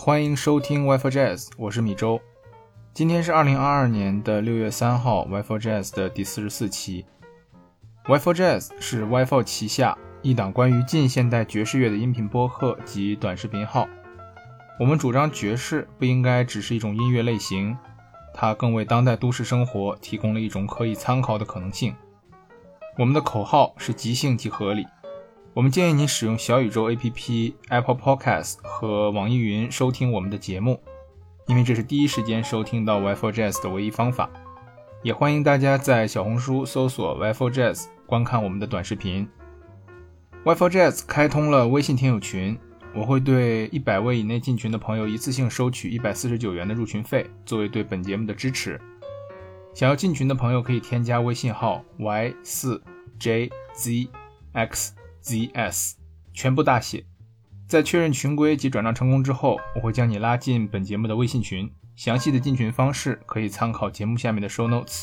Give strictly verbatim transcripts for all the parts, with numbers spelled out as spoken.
欢迎收听 Y four Jazz， 我是米周。今天是二零二二年的六月三号 Y four Jazz 的第四十四期。Y four Jazz 是 Y four 旗下一档关于近现代爵士乐的音频播客及短视频号。我们主张爵士不应该只是一种音乐类型，它更为当代都市生活提供了一种可以参考的可能性。我们的口号是即兴即合理。我们建议你使用小宇宙 A P P、Apple Podcast 和网易云收听我们的节目，因为这是第一时间收听到 Y four Jazz 的唯一方法。也欢迎大家在小红书搜索 Y four Jazz 观看我们的短视频。Y four Jazz 开通了微信听友群，我会对一百位以内进群的朋友一次性收取一百四十九元的入群费，作为对本节目的支持。想要进群的朋友可以添加微信号 Y 四 J Z X Z S 全部大写，在确认群规及转账成功之后，我会将你拉进本节目的微信群，详细的进群方式可以参考节目下面的 show notes。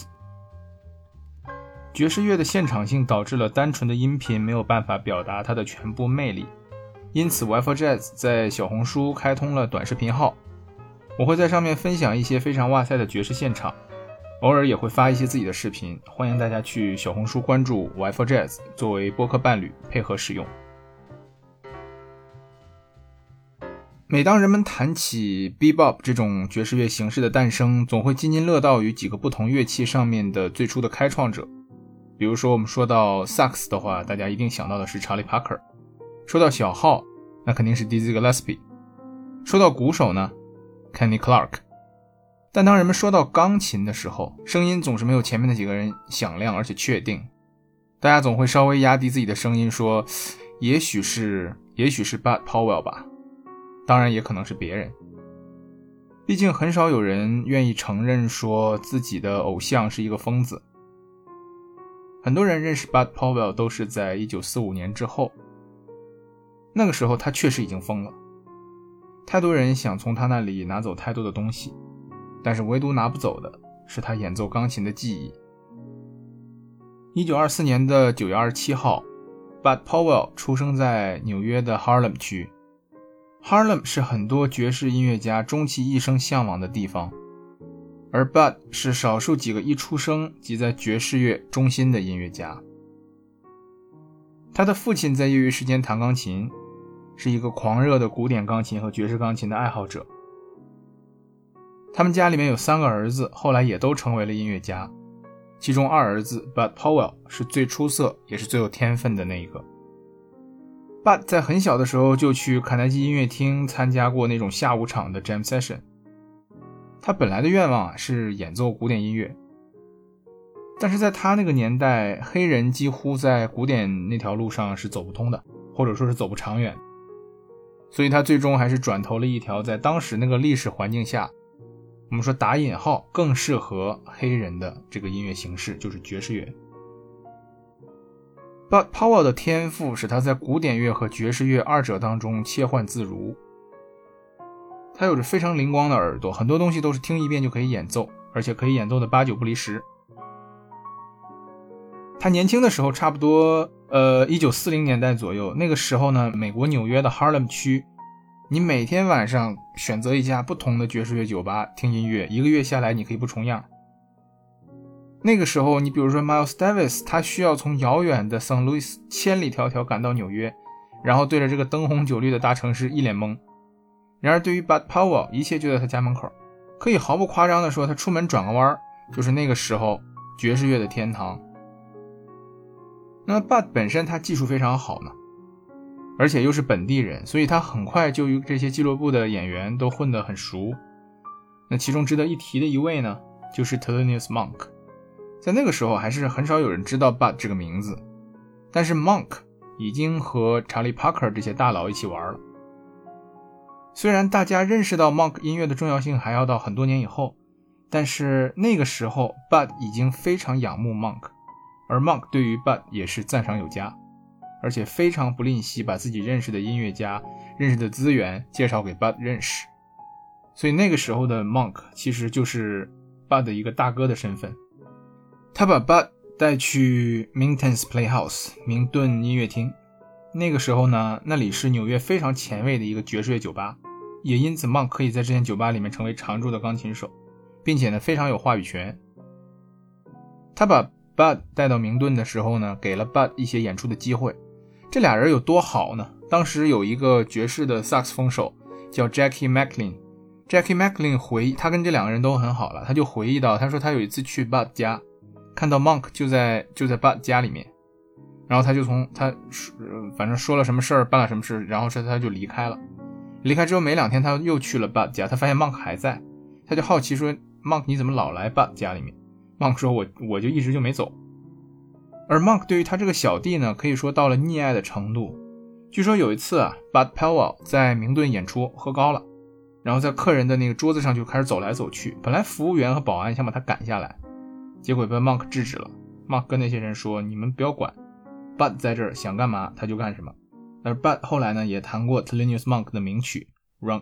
爵士乐的现场性导致了单纯的音频没有办法表达它的全部魅力，因此 Y four Jazz 在小红书开通了短视频号，我会在上面分享一些非常哇塞的爵士现场，偶尔也会发一些自己的视频，欢迎大家去小红书关注 Y four Jazz 作为播客伴侣配合使用。每当人们谈起 Bebop 这种爵士乐形式的诞生，总会津津乐道于几个不同乐器上面的最初的开创者。比如说我们说到萨克斯的话，大家一定想到的是查理帕克，说到小号那肯定是 Dizzy Gillespie， 说到鼓手呢 Kenny Clark。但当人们说到钢琴的时候，声音总是没有前面的几个人响亮而且确定，大家总会稍微压低自己的声音说也许是也许是 Bud Powell 吧，当然也可能是别人。毕竟很少有人愿意承认说自己的偶像是一个疯子。很多人认识 Bud Powell 都是在一九四五年之后，那个时候他确实已经疯了，太多人想从他那里拿走太多的东西，但是唯独拿不走的是他演奏钢琴的技艺。一九二四年的九月二十七号 Bud Powell 出生在纽约的 Harlem 区。 Harlem 是很多爵士音乐家终其一生向往的地方，而 Bud 是少数几个一出生即在爵士乐中心的音乐家。他的父亲在业余时间弹钢琴，是一个狂热的古典钢琴和爵士钢琴的爱好者。他们家里面有三个儿子，后来也都成为了音乐家，其中二儿子 Bud Powell 是最出色也是最有天分的那一个。 Bud 在很小的时候就去卡耐基音乐厅参加过那种下午场的 jam session。 他本来的愿望啊是演奏古典音乐，但是在他那个年代，黑人几乎在古典那条路上是走不通的，或者说是走不长远，所以他最终还是转投了一条在当时那个历史环境下，我们说打引号更适合黑人的这个音乐形式，就是爵士乐。 Bud Powell 的天赋使他在古典乐和爵士乐二者当中切换自如，他有着非常灵光的耳朵，很多东西都是听一遍就可以演奏，而且可以演奏的八九不离十。他年轻的时候差不多呃一九四零年代左右，那个时候呢，美国纽约的 Harlem 区，你每天晚上选择一家不同的爵士乐酒吧听音乐，一个月下来你可以不重样。那个时候你比如说 Miles Davis， 他需要从遥远的 Saint Louis 千里迢迢赶到纽约，然后对着这个灯红酒绿的大城市一脸懵。然而对于 Bud Powell， 一切就在他家门口，可以毫不夸张地说，他出门转个弯就是那个时候爵士乐的天堂。那么 Bud 本身他技术非常好呢，而且又是本地人，所以他很快就与这些俱乐部的演员都混得很熟。那其中值得一提的一位呢，就是 Thelonious Monk。 在那个时候还是很少有人知道 Bud 这个名字，但是 Monk 已经和查理帕克这些大佬一起玩了。虽然大家认识到 Monk 音乐的重要性还要到很多年以后，但是那个时候 Bud 已经非常仰慕 Monk， 而 Monk 对于 Bud 也是赞赏有加，而且非常不吝惜把自己认识的音乐家、认识的资源介绍给 Bud 认识。所以那个时候的 Monk 其实就是 Bud 的一个大哥的身份。他把 Bud 带去 Minton's Playhouse 明顿音乐厅，那个时候呢，那里是纽约非常前卫的一个爵士乐酒吧， 也因此 Monk 可以在这间酒吧里面成为常驻的钢琴手，并且呢非常有话语权。他把 Bud 带到明顿的时候呢，给了 Bud 一些演出的机会。这俩人有多好呢？当时有一个爵士的萨克斯风手叫 Jackie McLean， Jackie McLean 回忆，他跟这两个人都很好了，他就回忆到，他说他有一次去 Bud 家，看到 Monk 就在就在 Bud 家里面，然后他就从他反正说了什么事儿，办了什么事，然后他就离开了。离开之后没两天，他又去了 Bud 家，他发现 Monk 还在，他就好奇说 Monk 你怎么老来 Bud 家里面？ Monk 说我我就一直就没走。而 Monk 对于他这个小弟呢，可以说到了溺爱的程度。据说有一次啊 Bud Powell 在明顿演出喝高了，然后在客人的那个桌子上就开始走来走去，本来服务员和保安想把他赶下来，结果被 Monk 制止了。 Monk 跟那些人说，你们不要管， Bud 在这儿想干嘛他就干什么。而 Bud 后来呢也弹过 Thelonious Monk 的名曲 Round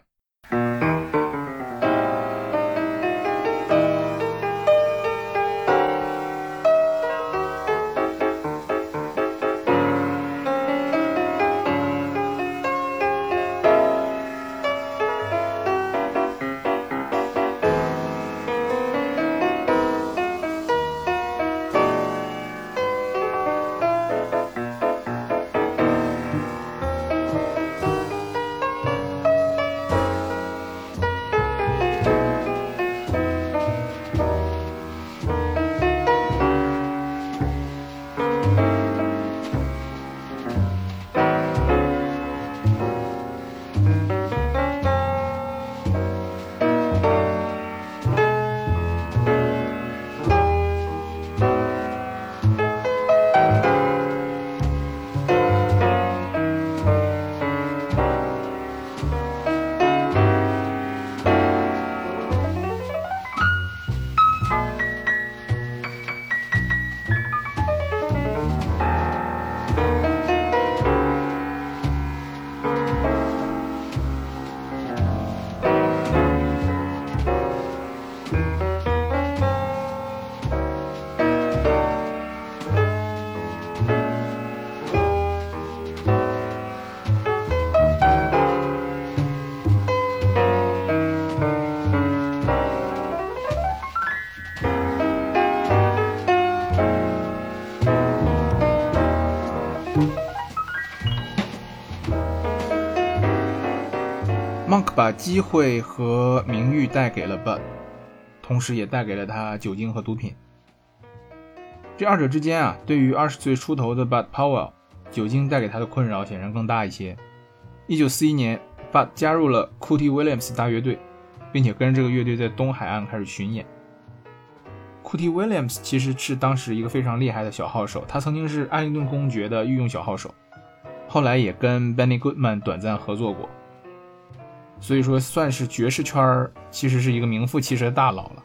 Midnight。Monk 把机会和名誉带给了 Bud， 同时也带给了他酒精和毒品。这二者之间啊，对于二十岁出头的 Bud Powell， 酒精带给他的困扰显然更大一些。一九四一年 Bud 加入了 Cootie Williams 大乐队，并且跟着这个乐队在东海岸开始巡演。Cootie Williams 其实是当时一个非常厉害的小号手，他曾经是艾灵顿公爵的御用小号手，后来也跟 Benny Goodman 短暂合作过，所以说算是爵士圈其实是一个名副其实的大佬了。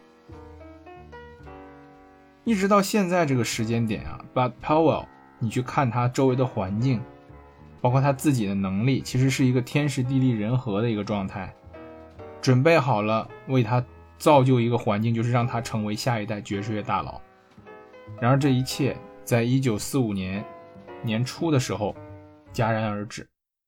一直到现在这个时间点啊 Bud Powell 你去看他周围的环境，包括他自己的能力，其实是一个天时地利人和的一个状态，准备好了为他造就一个环境，就是让他成为下一代爵士乐大佬。然而这一切在一九四五年年初的时候戛然而止。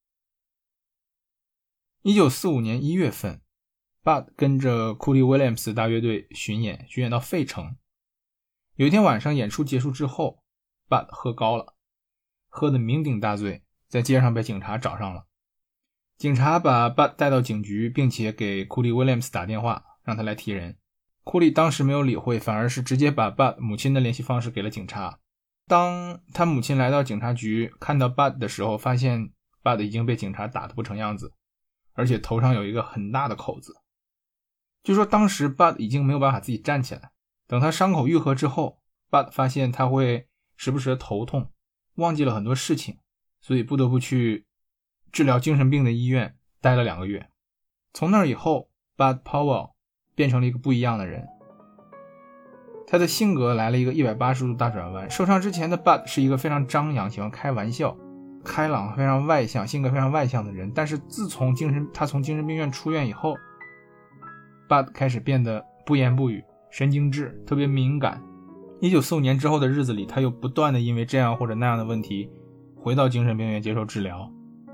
一九四五年一月份 Bud 跟着 Cootie Williams 大乐队巡演，巡演到费城。有一天晚上演出结束之后， Bud 喝高了，喝得酩酊大醉，在街上被警察找上了。警察把 Bud 带到警局，并且给 Cootie Williams 打电话让他来提人。库利当时没有理会，反而是直接把 Bud 母亲的联系方式给了警察。当他母亲来到警察局看到 Bud 的时候，发现 Bud 已经被警察打得不成样子，而且头上有一个很大的口子。据说当时 Bud 已经没有办法自己站起来，等他伤口愈合之后， Bud 发现他会时不时的头痛，忘记了很多事情，所以不得不去治疗精神病的医院待了两个月。从那以后 Bud Powell 变成了一个不一样的人，他的性格来了一个一百八十度大转弯。受伤之前的 Bud 是一个非常张扬，喜欢开玩笑，开朗，非常外向，性格非常外向的人。但是自从精神他从精神病院出院以后， Bud 开始变得不言不语，神经质，特别敏感。一九四五年之后的日子里，他又不断的因为这样或者那样的问题回到精神病院接受治疗。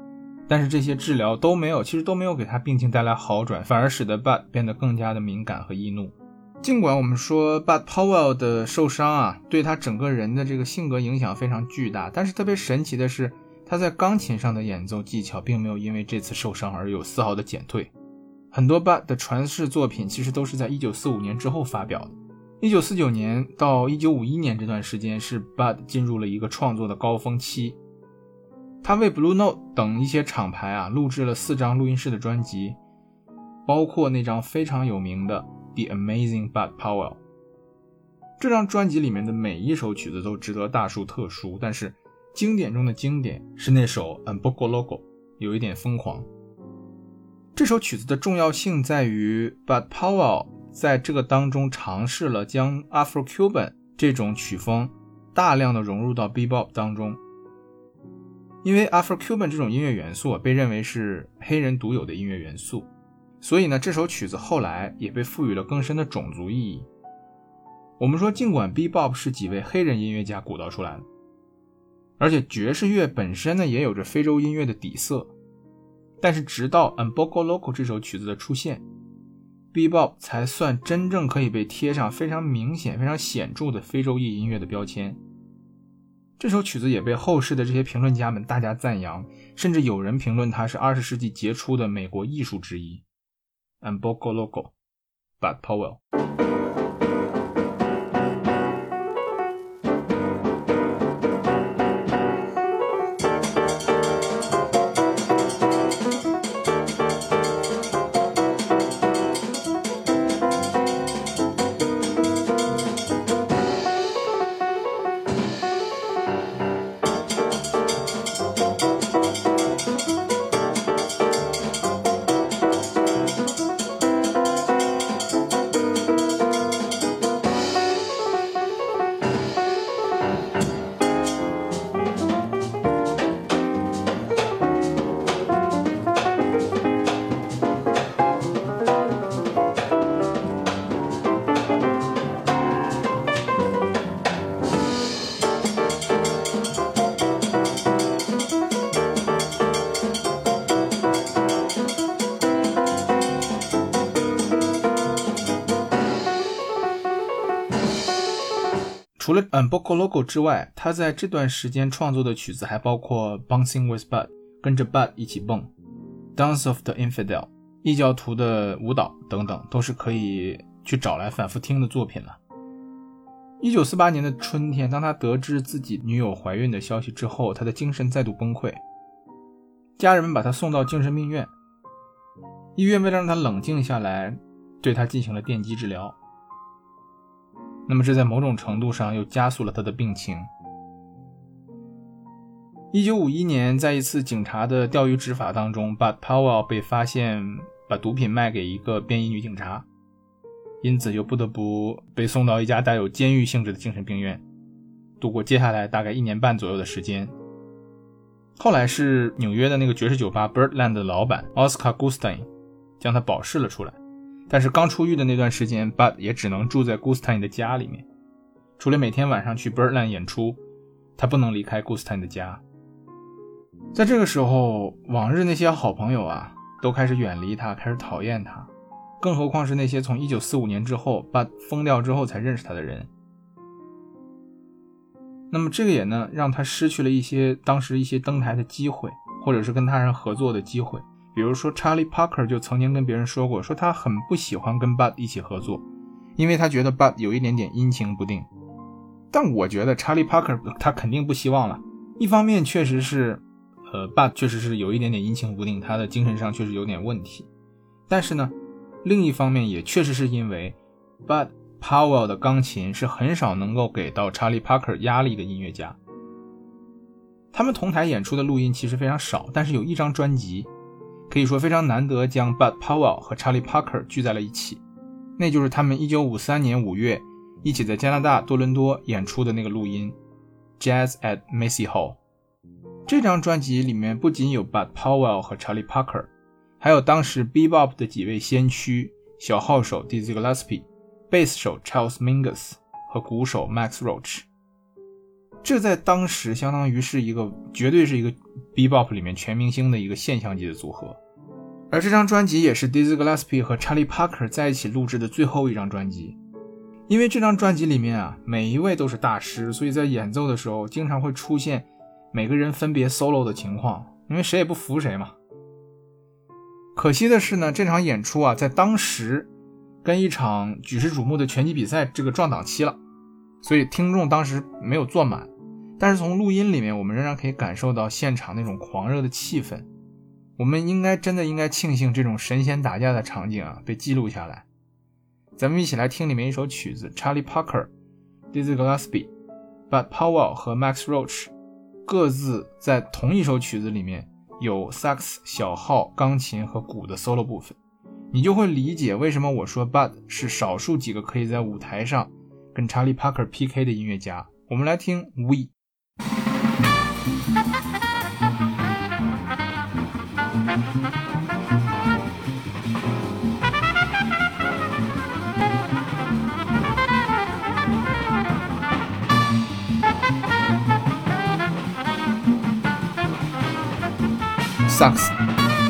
但是这些治疗都没有，其实都没有给他病情带来好转，反而使得 Bud 变得更加的敏感和易怒。尽管我们说 Bud Powell 的受伤啊，对他整个人的这个性格影响非常巨大，但是特别神奇的是，他在钢琴上的演奏技巧并没有因为这次受伤而有丝毫的减退。很多 Bud 的传世作品其实都是在一九四五年之后发表的。一九四九年到一九五一年这段时间是 Bud 进入了一个创作的高峰期。他为 Blue Note 等一些厂牌啊录制了四张录音室的专辑，包括那张非常有名的 The Amazing Bud Powell。 这张专辑里面的每一首曲子都值得大书特书，但是经典中的经典是那首 Unboco Loco， 有一点疯狂。这首曲子的重要性在于 Bud Powell 在这个当中尝试了将 Afro-Cuban 这种曲风大量的融入到 Bebop 当中。因为 Afro-Cuban 这种音乐元素被认为是黑人独有的音乐元素，所以呢，这首曲子后来也被赋予了更深的种族意义。我们说尽管 Bebop 是几位黑人音乐家鼓捣出来的，而且爵士乐本身呢也有着非洲音乐的底色，但是直到 Unboco Loco 这首曲子的出现， Bebop 才算真正可以被贴上非常明显非常显著的非洲裔音乐的标签。这首曲子也被后世的这些评论家们大加赞扬，甚至有人评论它是二十世纪杰出的美国艺术之一。 Unboco Loco Bud Powell。除了 Unboco Loco 之外，他在这段时间创作的曲子还包括 Bouncing with Bud 跟着 Bud 一起蹦， Dance of the Infidel 异教徒的舞蹈等等，都是可以去找来反复听的作品了。一九四八年的春天，当他得知自己女友怀孕的消息之后，他的精神再度崩溃，家人们把他送到精神病院，医院为了让他冷静下来，对他进行了电击治疗。那么这在某种程度上又加速了他的病情。一九五一年，在一次警察的钓鱼执法当中， Bud Powell 被发现把毒品卖给一个便衣女警察，因此又不得不被送到一家带有监狱性质的精神病院，度过接下来大概一年半左右的时间。后来是纽约的那个爵士酒吧 Birdland 的老板 Oscar Gustain 将他保释了出来，但是刚出狱的那段时间 Bud 也只能住在 Gustain 的家里面，除了每天晚上去 Birdland 演出，他不能离开 Gustain 的家。在这个时候，往日那些好朋友啊都开始远离他，开始讨厌他，更何况是那些从一九四五年之后 Bud 疯掉之后才认识他的人。那么这个也呢让他失去了一些当时一些登台的机会，或者是跟他人合作的机会。比如说 Charlie Parker 就曾经跟别人说过，说他很不喜欢跟 Bud 一起合作，因为他觉得 Bud 有一点点阴晴不定。但我觉得 Charlie Parker 他肯定不希望了，一方面确实是呃 Bud 确实是有一点点阴晴不定，他的精神上确实有点问题，但是呢另一方面也确实是因为 Bud Powell 的钢琴是很少能够给到 Charlie Parker 压力的音乐家。他们同台演出的录音其实非常少，但是有一张专辑可以说非常难得将 Bud Powell 和 Charlie Parker 聚在了一起，那就是他们一九五三年五月一起在加拿大多伦多演出的那个录音 Jazz at Macy Hall。 这张专辑里面不仅有 Bud Powell 和 Charlie Parker， 还有当时 Bebop 的几位先驱，小号手 Dizzy Gillespie， 贝斯手 Charles Mingus 和鼓手 Max Roach。 这在当时相当于是一个绝对是一个 Bebop 里面全明星的一个现象级的组合。而这张专辑也是 Dizzy Gillespie 和 Charlie Parker 在一起录制的最后一张专辑。因为这张专辑里面啊，每一位都是大师，所以在演奏的时候经常会出现每个人分别 solo 的情况，因为谁也不服谁嘛。可惜的是呢，这场演出啊，在当时跟一场举世瞩目的拳击比赛这个撞档期了，所以听众当时没有坐满。但是从录音里面，我们仍然可以感受到现场那种狂热的气氛。我们应该真的应该庆幸这种神仙打架的场景啊被记录下来。咱们一起来听里面一首曲子 Charlie Parker、Dizzy Gillespie、Bud Powell 和 Max Roach 各自在同一首曲子里面有萨克斯、小号、钢琴和鼓的 solo 部分，你就会理解为什么我说 Bud 是少数几个可以在舞台上跟 Charlie Parker P K 的音乐家。我们来听 We。萨克斯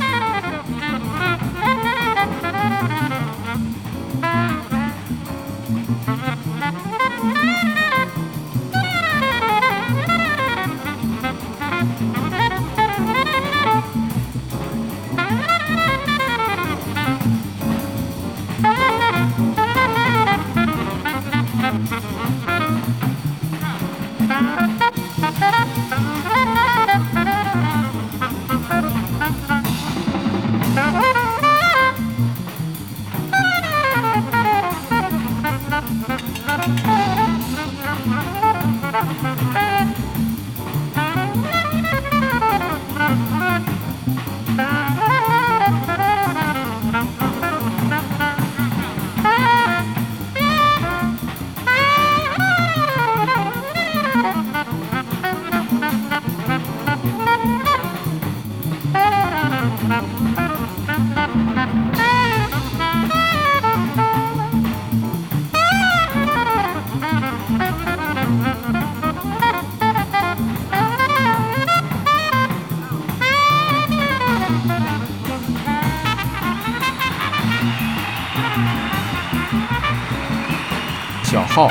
小号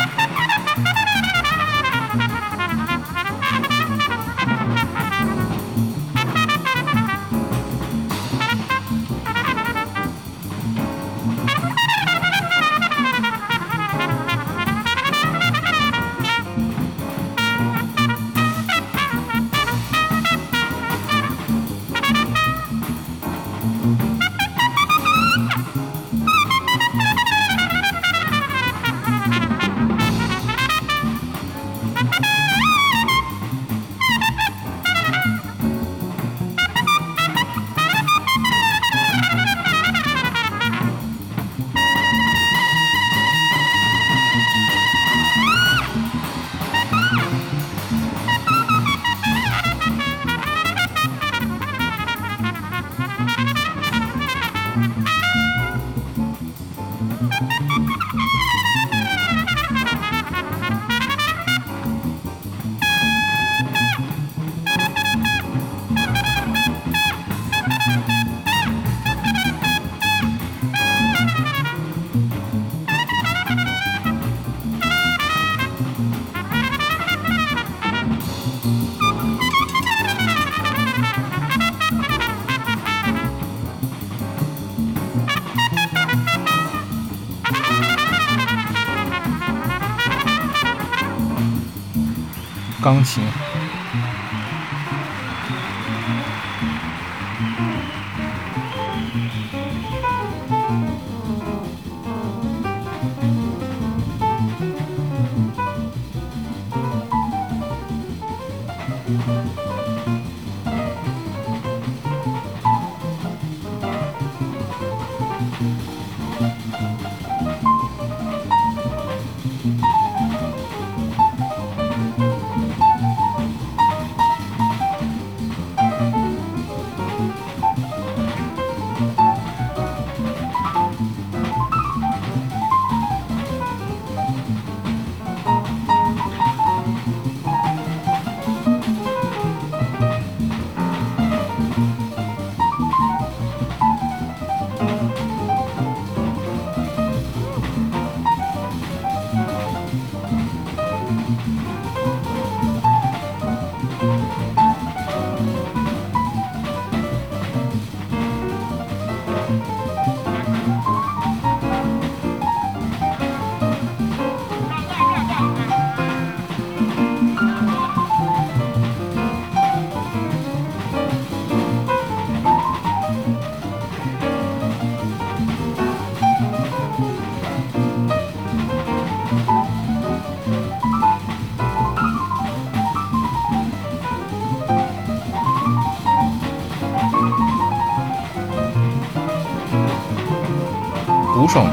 钢琴鼓手。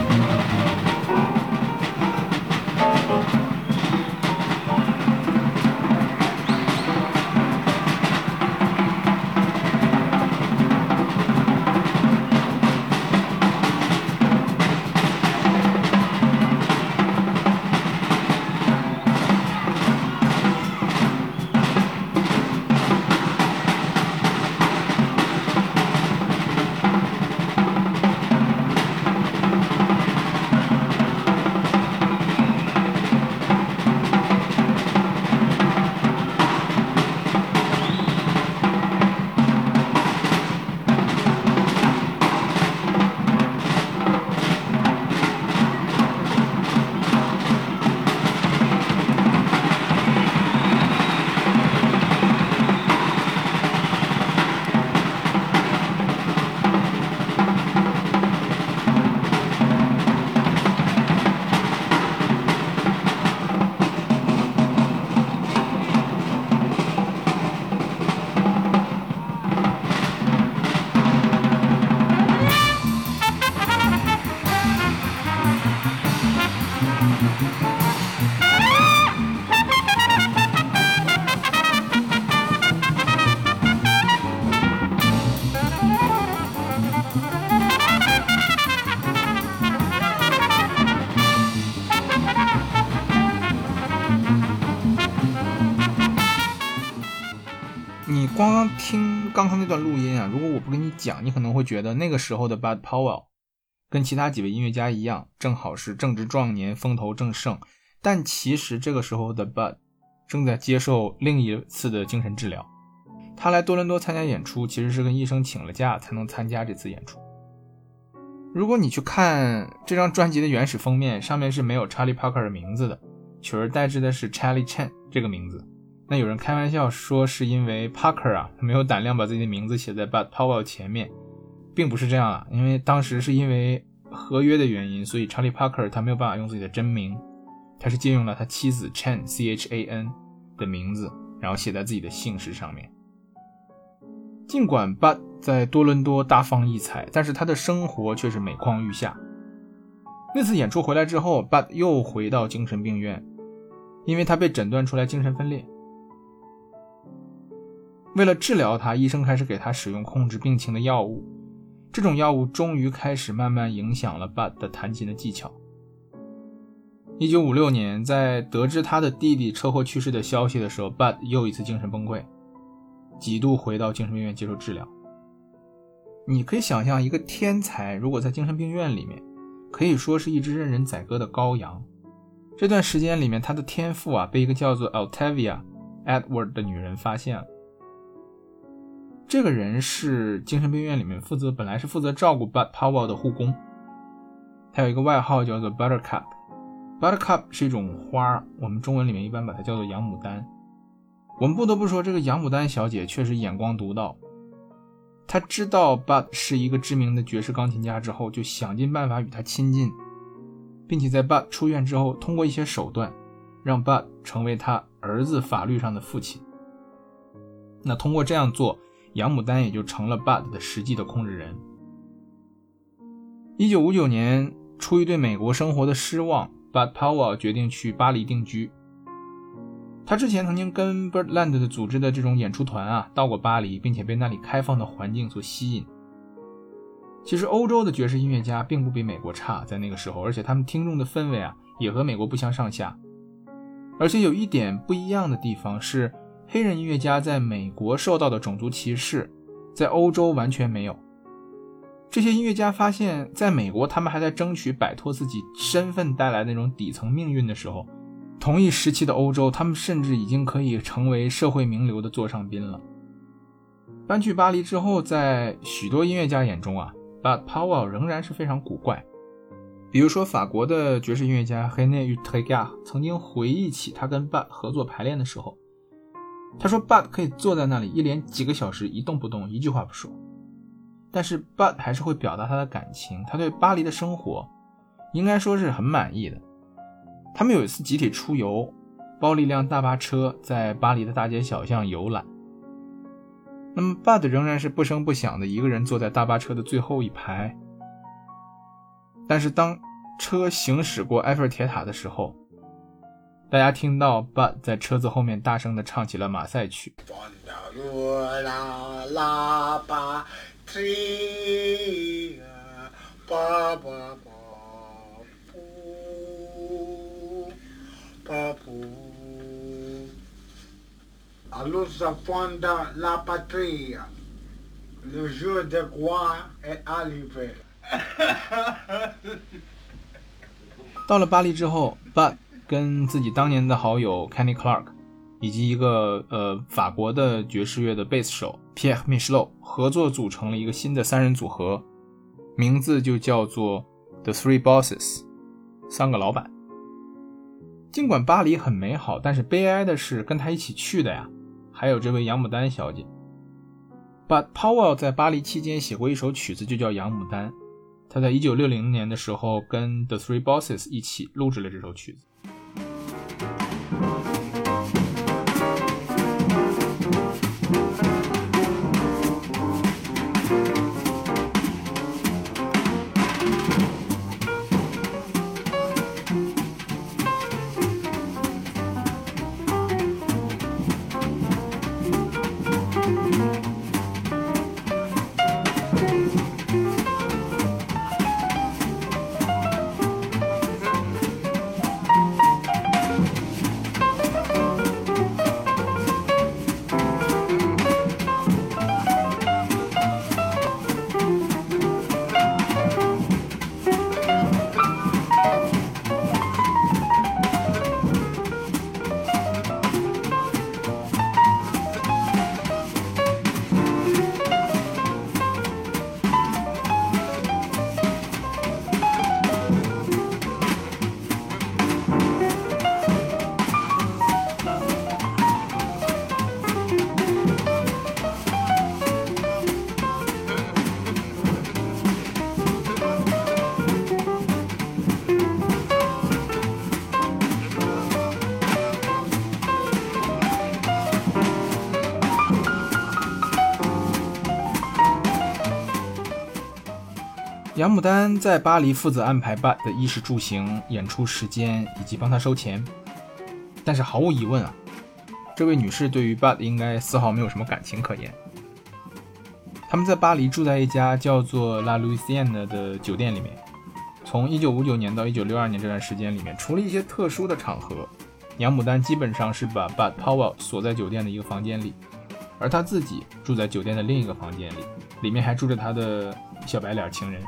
你光刚听刚刚那段录音啊，如果我不跟你讲，你可能会觉得那个时候的 Bud Powell 跟其他几位音乐家一样，正好是正值壮年，风头正盛。但其实这个时候的 Bud 正在接受另一次的精神治疗。他来多伦多参加演出，其实是跟医生请了假才能参加这次演出。如果你去看这张专辑的原始封面，上面是没有 Charlie Parker 的名字的，取而代之的是 Charlie Chen 这个名字。那有人开玩笑说是因为 Parker 啊没有胆量把自己的名字写在 Bud Powell 前面，并不是这样啊，因为当时是因为合约的原因，所以 Charlie Parker 他没有办法用自己的真名，他是借用了他妻子 Chen C H A N 的名字，然后写在自己的姓氏上面。尽管 Bud 在多伦多大放异彩，但是他的生活却是每况愈下。那次演出回来之后， Bud 又回到精神病院，因为他被诊断出来精神分裂。为了治疗他，医生开始给他使用控制病情的药物，这种药物终于开始慢慢影响了 Bud 的弹琴的技巧。一九五六年，在得知他的弟弟车祸去世的消息的时候， Bud 又一次精神崩溃，几度回到精神病院接受治疗。你可以想象，一个天才如果在精神病院里面，可以说是一只任人宰割的羔羊。这段时间里面，他的天赋啊，被一个叫做 Altavia Edward 的女人发现了。这个人是精神病院里面负责本来是负责照顾 Bud Powell 的护工，他有一个外号叫做 Buttercup。 Buttercup 是一种花，我们中文里面一般把它叫做洋牡丹。我们不得不说，这个洋牡丹小姐确实眼光独到，她知道 Bud 是一个知名的爵士钢琴家之后，就想尽办法与他亲近，并且在 Bud 出院之后，通过一些手段让 Bud 成为他儿子法律上的父亲。那通过这样做，洋牡丹也就成了 Bud 的实际的控制人。一九五九年，出于对美国生活的失望， Bud Powell 决定去巴黎定居。他之前曾经跟 Birdland 的组织的这种演出团啊到过巴黎，并且被那里开放的环境所吸引。其实欧洲的爵士音乐家并不比美国差，在那个时候，而且他们听众的氛围啊也和美国不相上下。而且有一点不一样的地方是，黑人音乐家在美国受到的种族歧视，在欧洲完全没有。这些音乐家发现，在美国他们还在争取摆脱自己身份带来的那种底层命运的时候，同一时期的欧洲，他们甚至已经可以成为社会名流的座上宾了。搬去巴黎之后，在许多音乐家眼中啊 Bud Powell 仍然是非常古怪。比如说法国的爵士音乐家 René Utregat 曾经回忆起他跟 Bud 合作排练的时候，他说 Bud 可以坐在那里一连几个小时一动不动，一句话不说，但是 Bud 还是会表达他的感情，他对巴黎的生活应该说是很满意的。他们有一次集体出游，包了一辆大巴车在巴黎的大街小巷游览。那么 Bud 仍然是不声不响的一个人坐在大巴车的最后一排。 但是当车行驶过埃菲尔铁塔的时候，大家听到 Bud 在车子后面大声地唱起了马赛曲。 Allons fondre la patrie, le jour de gloire est arrivé 到了巴黎之后 Bud 跟自己当年的好友 Kenny Clark 以及一个呃法国的爵士乐的贝斯手 Pierre Michelot 合作组成了一个新的三人组合，名字就叫做 The Three Bosses 三个老板。尽管巴黎很美好，但是悲哀的是跟他一起去的呀还有这位杨牡丹小姐。 Bud Powell 在巴黎期间写过一首曲子就叫杨牡丹，他在一九六零年的时候跟 The Three Bosses 一起录制了这首曲子。杨牡丹在巴黎负责安排 Bud 的衣食住行、演出时间以及帮他收钱。但是毫无疑问啊，这位女士对于 Bud 应该丝毫没有什么感情可言。他们在巴黎住在一家叫做 La Louisiane 的酒店里面。从一九五九年到一九六二年这段时间里面，除了一些特殊的场合，杨牡丹基本上是把 Bud Powell 锁在酒店的一个房间里，而他自己住在酒店的另一个房间里，里面还住着他的小白脸情人。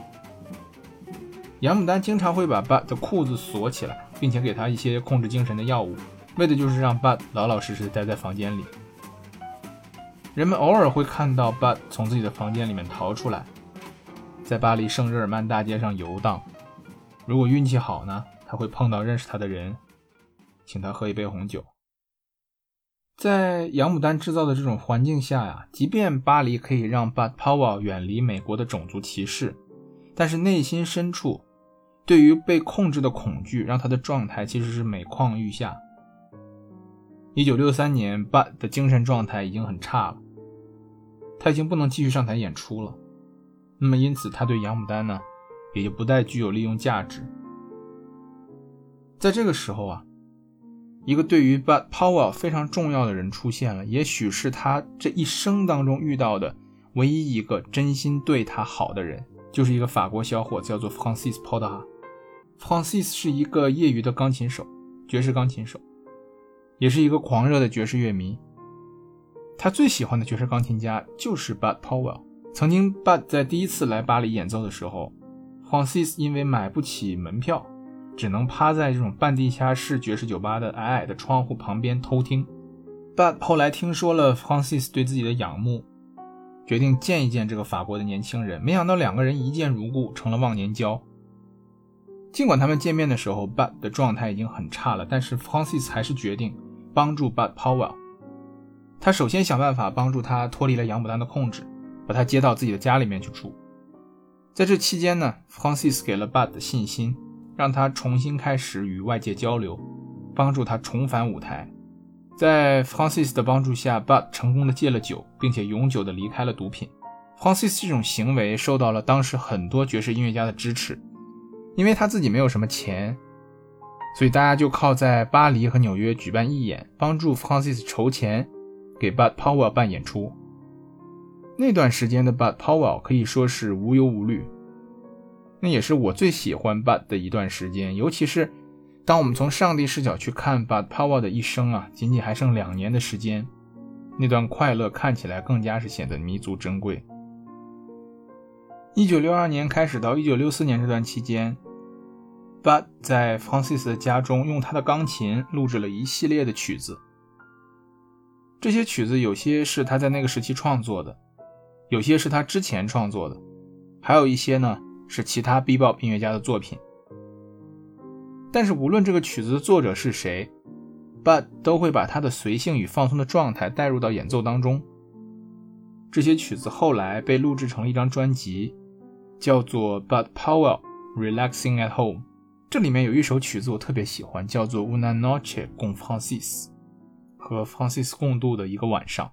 杨牡丹经常会把 Bud 的裤子锁起来，并且给他一些控制精神的药物，为的就是让 Bud 老老实实地待在房间里。人们偶尔会看到 Bud 从自己的房间里面逃出来，在巴黎圣日耳曼大街上游荡。如果运气好呢，他会碰到认识他的人，请他喝一杯红酒。在杨牡丹制造的这种环境下呀，即便巴黎可以让 Bud Powell 远离美国的种族歧视，但是内心深处对于被控制的恐惧让他的状态其实是每况愈下。一九六三年 Bud 的精神状态已经很差了，他已经不能继续上台演出了，那么因此他对杨牡丹呢也就不再具有利用价值。在这个时候啊，一个对于 Bud Powell 非常重要的人出现了，也许是他这一生当中遇到的唯一一个真心对他好的人，就是一个法国小伙子，叫做 Francis Poudre。Francis 是一个业余的钢琴手，爵士钢琴手，也是一个狂热的爵士乐迷。他最喜欢的爵士钢琴家就是 Bud Powell。曾经 Bud 在第一次来巴黎演奏的时候， Francis 因为买不起门票，只能趴在这种半地下室爵士酒吧的矮矮的窗户旁边偷听。 Bud 后来听说了 Francis 对自己的仰慕，决定见一见这个法国的年轻人，没想到两个人一见如故，成了忘年交。尽管他们见面的时候 Bud 的状态已经很差了，但是 Francis 还是决定帮助 Bud Powell。 他首先想办法帮助他脱离了杨牡丹的控制，把他接到自己的家里面去住。在这期间呢， Francis 给了 Bud 的信心，让他重新开始与外界交流，帮助他重返舞台。在 Francis 的帮助下， Bud 成功的戒了酒，并且永久的离开了毒品。 Francis 这种行为受到了当时很多爵士音乐家的支持， 因为他自己没有什么钱，所以大家就靠在巴黎和纽约举办义演，帮助 Francis 筹钱给 Bud Powell 办演出。那段时间的 Bud Powell 可以说是无忧无虑，那也是我最喜欢 Bud 的一段时间，尤其是当我们从上帝视角去看 Bud Powell 的一生啊，仅仅还剩两年的时间，那段快乐看起来更加是显得弥足珍贵。一九六二年开始到一九六四年这段期间， Bud 在 Francis 的家中用他的钢琴录制了一系列的曲子，这些曲子有些是他在那个时期创作的，有些是他之前创作的，还有一些呢是其他 Bebop 音乐家的作品。但是无论这个曲子的作者是谁， Bud 都会把他的随性与放松的状态带入到演奏当中。这些曲子后来被录制成了一张专辑，叫做 Bud Powell Relaxing at Home。 这里面有一首曲子我特别喜欢，叫做 Una Noche con Francis， 和 Francis 共度的一个晚上。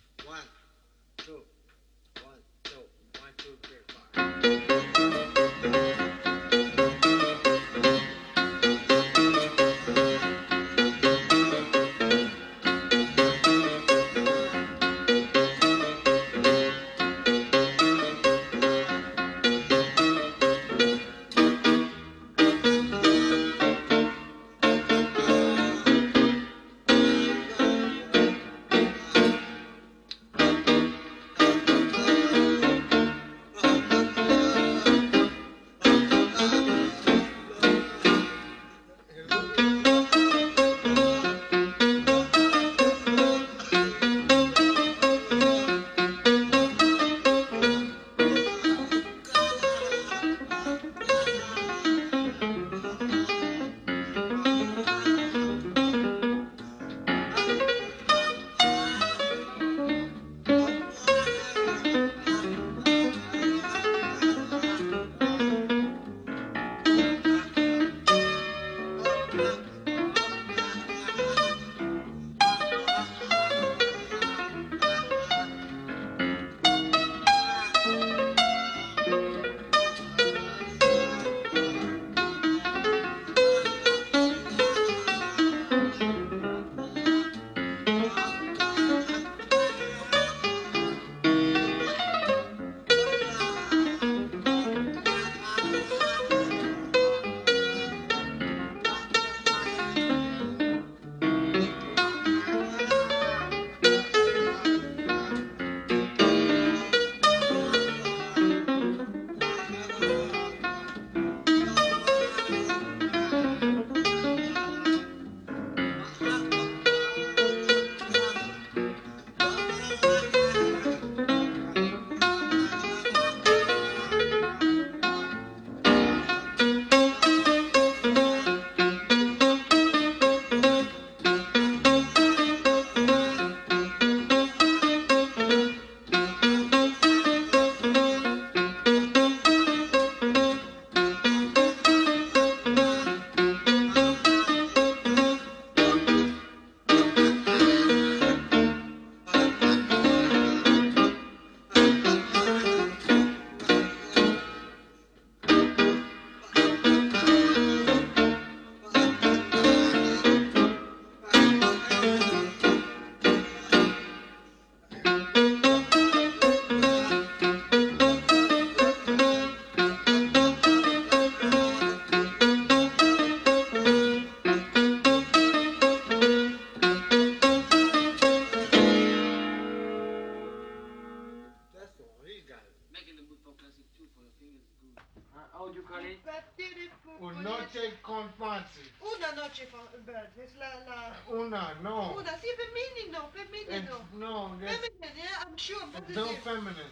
Una noche con Francis. Una noche con Bud. Es la, la... Una, no. Una, sí, femenino, femenino. It's, no, there's, Feminine, yeah, I'm sure. Bud it's is no it. feminine.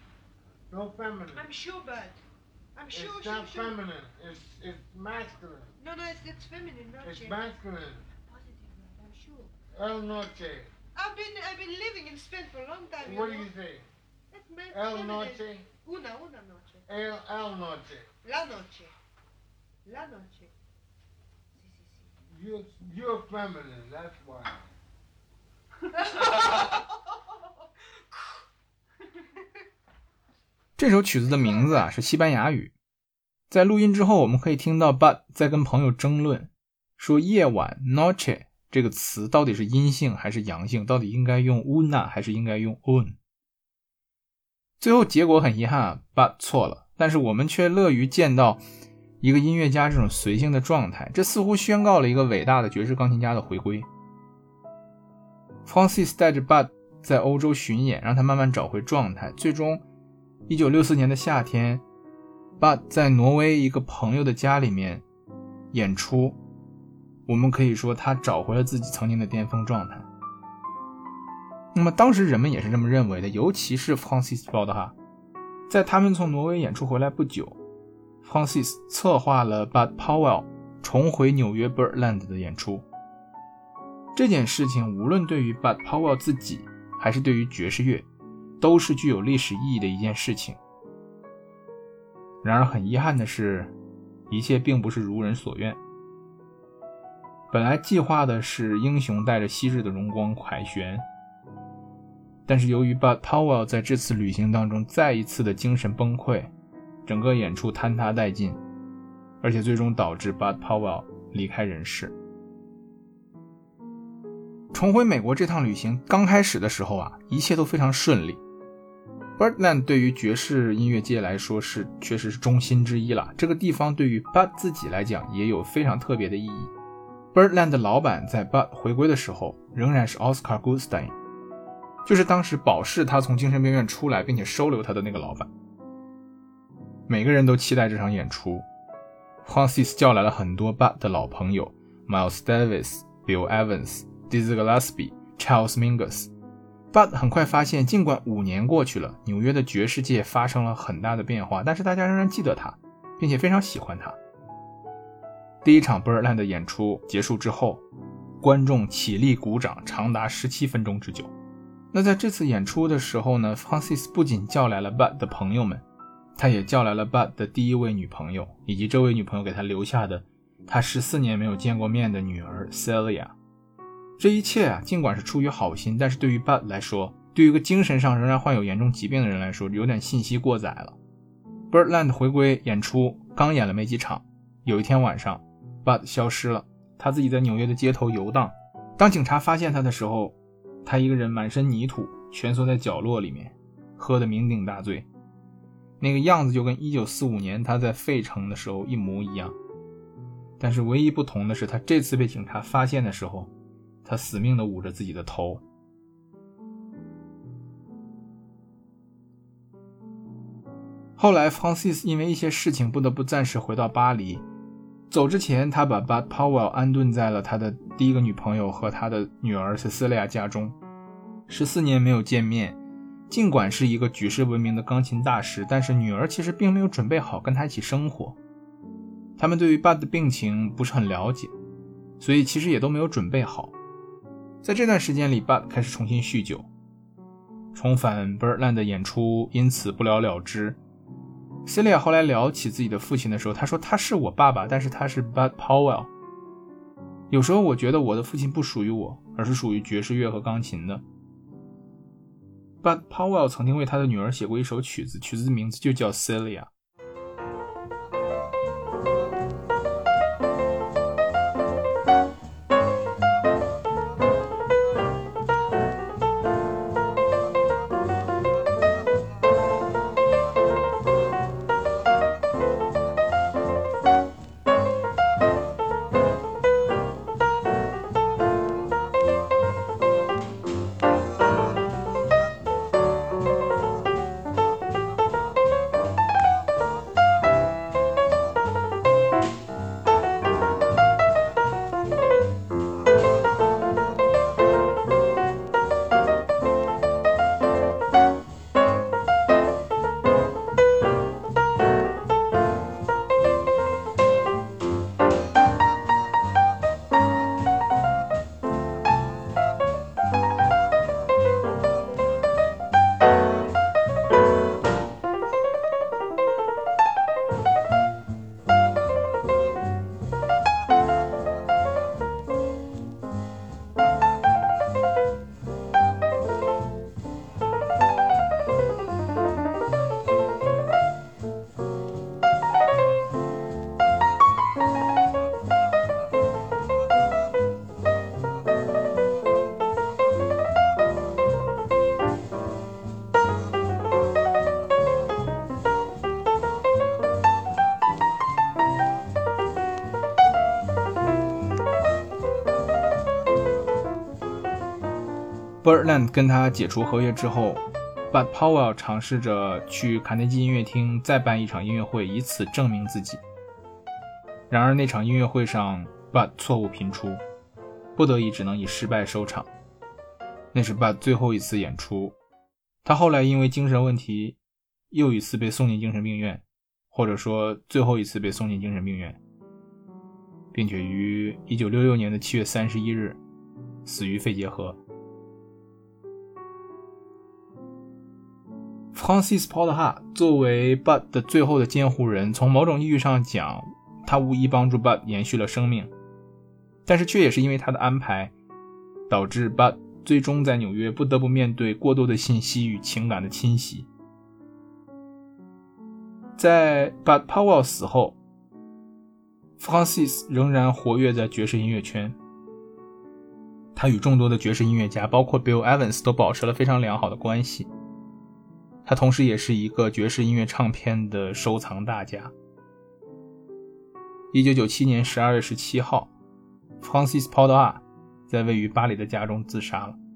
No feminine. I'm sure, Bud. I'm sure, It's sure, not sure. feminine. It's it's masculine. No, no, it's, it's feminine, noche. It's masculine. Positive, Bud, I'm sure. El noche. I've been, I've been living in Spain for a long time, you What do know. you say? It's ma- El feminine. noche. Una, una noche. El el noche. La noche. La noche. Sí, sí, sí. You're you're feminine. That's why. 这首曲子的名字啊是西班牙语， 在录音之后，我们可以听到 Bud 在跟朋友争论，说夜晚 noche 这个词到底是阴性还是阳性，到底应该用 una 还是应该用 un。 最后结果很遗憾啊 Bud 错了，但是我们却乐于见到一个音乐家这种随性的状态，这似乎宣告了一个伟大的爵士钢琴家的回归。 Francis 带着 Bud 在欧洲巡演，让他慢慢找回状态，最终一九六四年的夏天， Bud 在挪威一个朋友的家里面演出，我们可以说他找回了自己曾经的巅峰状态。那么当时人们也是这么认为的，尤其是 Francis 报的哈，在他们从挪威演出回来不久， Francis 策划了 Bud Powell 重回纽约 Birdland 的演出。这件事情无论对于 Bud Powell 自己还是对于爵士乐都是具有历史意义的一件事情。然而很遗憾的是，一切并不是如人所愿。本来计划的是英雄带着昔日的荣光凯旋，但是由于 Bud Powell 在这次旅行当中再一次的精神崩溃，整个演出坍塌殆尽，而且最终导致 Bud Powell 离开人世。重回美国这趟旅行刚开始的时候啊，一切都非常顺利。Birdland 对于爵士音乐界来说是确实是中心之一了，这个地方对于 Bud 自己来讲也有非常特别的意义。Birdland 的老板在 Bud 回归的时候仍然是 Oscar Goodstein， 就是当时保释他从精神病院出来并且收留他的那个老板。每个人都期待这场演出， Francis 叫来了很多 Bud 的老朋友 Miles Davis、Bill Evans、Dizzy Gillespie、Charles Mingus。Bud 很快发现，尽管五年过去了，纽约的爵士界发生了很大的变化，但是大家仍然记得他，并且非常喜欢他。第一场 Birdland 的演出结束之后，观众起立鼓掌长达十七分钟之久。那在这次演出的时候呢， Francis 不仅叫来了 Bud 的朋友们，他也叫来了 Bud 的第一位女朋友，以及这位女朋友给他留下的他十四年没有见过面的女儿 Celia。这一切啊，尽管是出于好心，但是对于 Bud 来说，对于一个精神上仍然患有严重疾病的人来说，有点信息过载了。Birdland 回归演出刚演了没几场，有一天晚上 Bud 消失了，他自己在纽约的街头游荡。当警察发现他的时候，他一个人满身泥土，蜷缩在角落里面，喝得酩酊大醉，那个样子就跟一九四五年他在费城的时候一模一样。但是唯一不同的是，他这次被警察发现的时候，他死命地捂着自己的头。后来 Francis 因为一些事情不得不暂时回到巴黎，走之前他把 Bud Powell 安顿在了他的第一个女朋友和他的女儿 Cecilia 家中。十四年没有见面，尽管是一个举世闻名的钢琴大师，但是女儿其实并没有准备好跟他一起生活。他们对于 Bud 的病情不是很了解，所以其实也都没有准备好。在这段时间里 Bud 开始重新酗酒，重返 Birdland 的演出因此不了了之。Celia 后来聊起自己的父亲的时候，他说他是我爸爸，但是他是 Bud Powell。 有时候我觉得我的父亲不属于我，而是属于爵士乐和钢琴的。 Bud Powell 曾经为他的女儿写过一首曲子，曲子的名字就叫 Celia。 Birdland 跟他解除合约之后， Bud Powell 尝试着去卡内基音乐厅再办一场音乐会，以此证明自己。然而那场音乐会上 Bud 错误频出，不得已只能以失败收场。那是 Bud 最后一次演出，他后来因为精神问题又一次被送进精神病院，或者说最后一次被送进精神病院，并且于一九六六年的七月三十一日死于肺结核。Francis Porter 作为 Bud 的最后的监护人，从某种意义上讲，他无疑帮助 Bud 延续了生命，但是却也是因为他的安排，导致 Bud 最终在纽约不得不面对过多的信息与情感的侵袭。在 Bud Powell 死后， Francis 仍然活跃在爵士音乐圈，他与众多的爵士音乐家包括 Bill Evans 都保持了非常良好的关系。他同时也是一个爵士音乐唱片的收藏大家。一九九七年十二月十七号 Francis Porter 在位于巴黎的家中自杀了。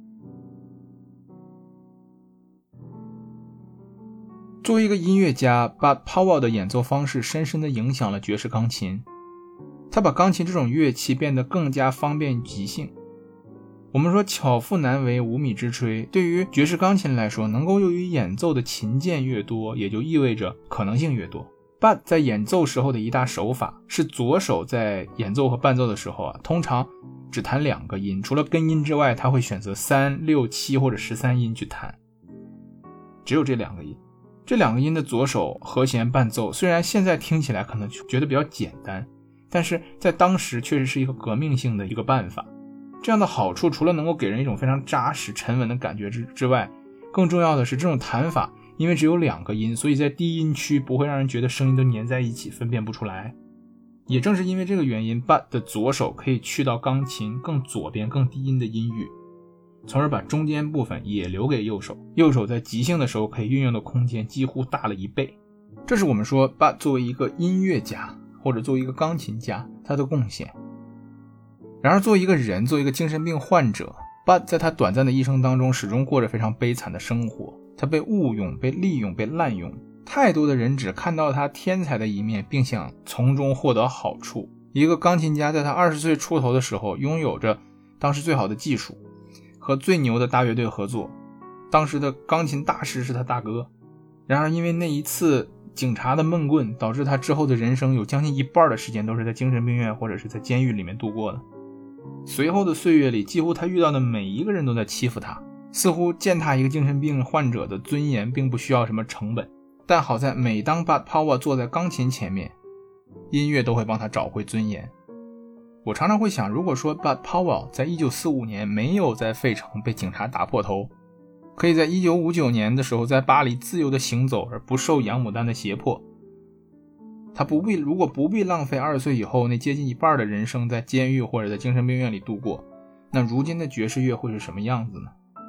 作为一个音乐家， Bud Powell 的演奏方式深深地影响了爵士钢琴，他把钢琴这种乐器变得更加方便即兴。我们说巧妇难为无米之炊，对于爵士钢琴来说，能够用于演奏的琴键越多，也就意味着可能性越多。Bud 在演奏时候的一大手法是左手在演奏和伴奏的时候啊，通常只弹两个音，除了根音之外，他会选择三、六、七或者十三音去弹，只有这两个音。这两个音的左手和弦伴奏，虽然现在听起来可能觉得比较简单，但是在当时确实是一个革命性的一个办法。这样的好处除了能够给人一种非常扎实沉稳的感觉 之, 之外，更重要的是这种弹法因为只有两个音，所以在低音区不会让人觉得声音都粘在一起分辨不出来。也正是因为这个原因， Bud 的左手可以去到钢琴更左边更低音的音域，从而把中间部分也留给右手，右手在即兴的时候可以运用的空间几乎大了一倍。这是我们说 Bud 作为一个音乐家或者作为一个钢琴家他的贡献。然而作为一个人，作为一个精神病患者， Bud 在他短暂的一生当中始终过着非常悲惨的生活。他被误用，被利用，被滥用，太多的人只看到他天才的一面，并想从中获得好处。一个钢琴家在他二十岁出头的时候，拥有着当时最好的技术，和最牛的大乐队合作，当时的钢琴大师是他大哥。然而因为那一次警察的闷棍，导致他之后的人生有将近一半的时间都是在精神病院或者是在监狱里面度过的。随后的岁月里，几乎他遇到的每一个人都在欺负他，似乎践踏一个精神病患者的尊严并不需要什么成本。但好在每当 Bud Powell 坐在钢琴前面，音乐都会帮他找回尊严。我常常会想，如果说 Bud Powell 在一九四五年没有在费城被警察打破头，可以在一九五九年的时候在巴黎自由的行走而不受洋牡丹的胁迫，他不必如果不必浪费二十岁以后那接近一半的人生在监狱或者在精神病院里度过，那如今的爵士乐会是什么样子呢？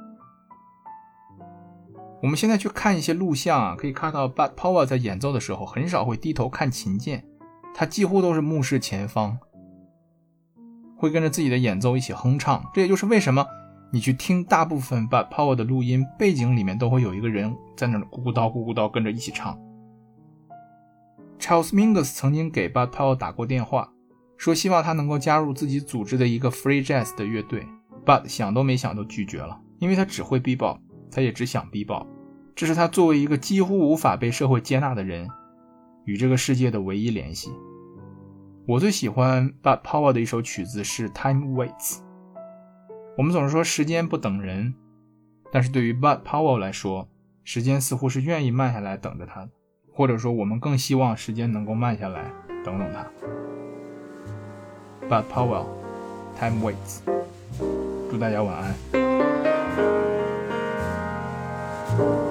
我们现在去看一些录像啊，可以看到 Bud Powell 在演奏的时候很少会低头看琴键，他几乎都是目视前方，会跟着自己的演奏一起哼唱。这也就是为什么你去听大部分 Bud Powell 的录音，背景里面都会有一个人在那咕咕叨咕咕叨跟着一起唱。Charles Mingus 曾经给 Bud Powell 打过电话，说希望他能够加入自己组织的一个 Free Jazz 的乐队。 Bud 想都没想都拒绝了，因为他只会 bebop， 他也只想 bebop， 这是他作为一个几乎无法被社会接纳的人与这个世界的唯一联系。我最喜欢 Bud Powell 的一首曲子是 Time Waits。 我们总是说时间不等人，但是对于 Bud Powell 来说，时间似乎是愿意慢下来等着他的，或者说我们更希望时间能够慢下来等等他。 Bud Powell Time Waits， 祝大家晚安。